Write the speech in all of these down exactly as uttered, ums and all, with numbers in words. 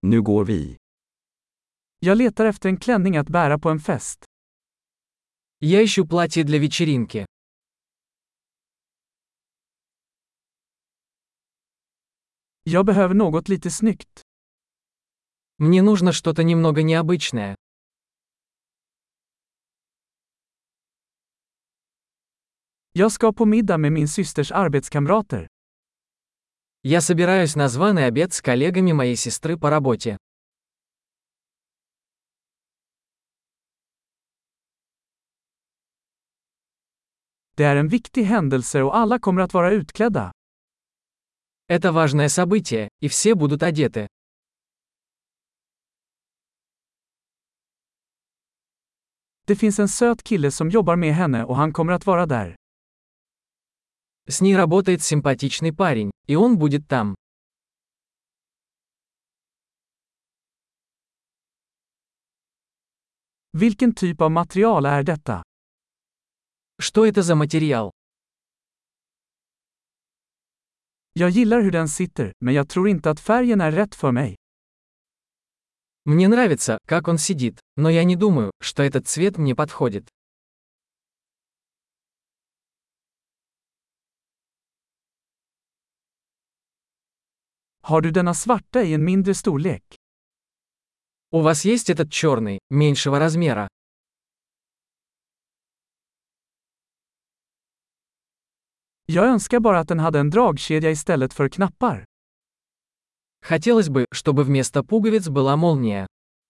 Nu går vi. Jag letar efter en klänning att bära på en fest. Я ищу платье для вечеринки. Jag behöver något lite snyggt. Мне нужно что-то немного необычное. Jag ska på middag med min systers arbetskamrater. Я собираюсь на званый обед с коллегами моей сестры по работе. Det är en viktig händelse och alla kommer att vara utklädda. Это важное событие, и все будут одеты. Det finns en söt kille som jobbar med henne och han kommer att vara där. С ней работает симпатичный парень, и он будет там. Vilken typ av material är detta? Что это за материал? Jag gillar hur den sitter, men jag tror inte att färgen är rätt för mig. Мне нравится, как он сидит, но я не думаю, что этот цвет мне подходит. Har du denna svarta i en mindre storlek? У вас есть этот черный, меньшего размера? Jag önskar bara att den hade en dragkedja istället för knappar. Хотелось бы, чтобы вместо пуговиц была молния.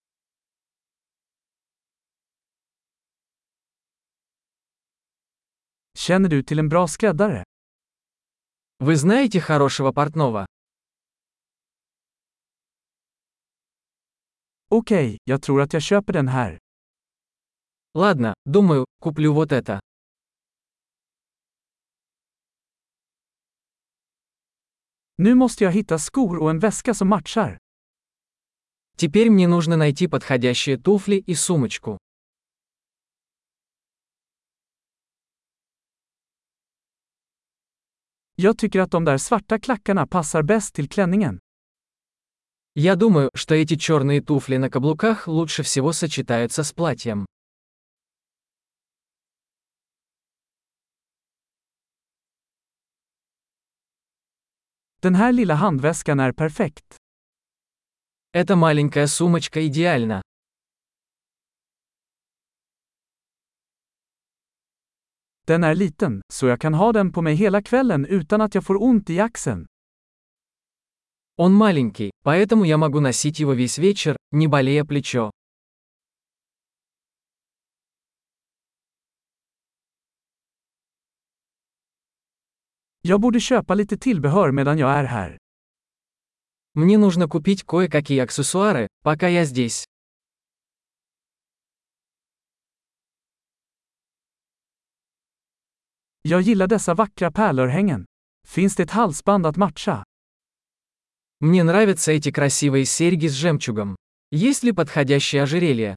Känner du till en bra skräddare? Вы знаете хорошего портного? Okej, jag tror att jag köper den här. Ладно, думаю, куплю вот это. Nu måste jag hitta skor och en väska som matchar. Теперь мне нужно найти подходящие туфли и сумочку. Jag tycker att de där svarta klackarna passar bäst till klänningen. Я думаю, что эти черные туфли на каблуках лучше всего сочетаются с платьем. Den här lilla handväskan är perfekt. Эта маленькая сумочка идеальна. Den är liten, så jag kan ha den på mig hela kvällen utan att jag får ont i axeln. Он маленький, поэтому я могу носить его весь вечер, не болея плечо. Jag borde köpa lite tillbehör medan jag är här. Мне нужно купить кое-какие аксессуары, пока я здесь. Jag gillar dessa vackra pärlörhängen. Finns det ett halsband att matcha? Мне нравятся эти красивые серьги с жемчугом. Есть ли подходящее ожерелье?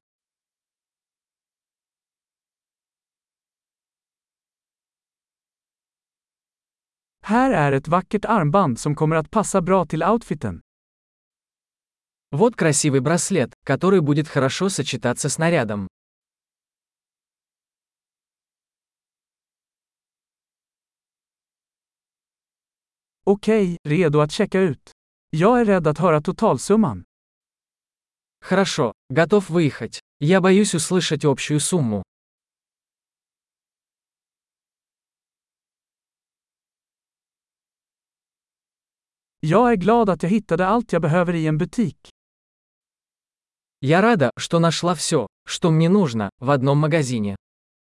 Här är ett vackert armband som kommer att passa bra till outfiten. Вот красивый браслет, который будет хорошо сочетаться с нарядом. Okej, redo att checka ut. Jag är rädd att höra totalsumman. Хорошо, готов выехать. Я боюсь услышать общую сумму. Jag är glad att jag hittade allt jag behöver i en butik. Я рада, что нашла все, что мне нужно, в одном магазине.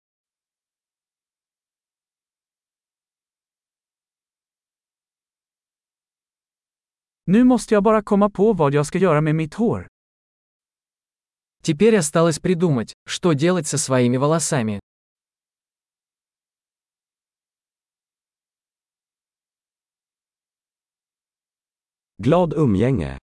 Nu måste jag bara komma på vad jag ska göra med mitt hår. Теперь осталось придумать, что делать со своими волосами. Glad umgänge.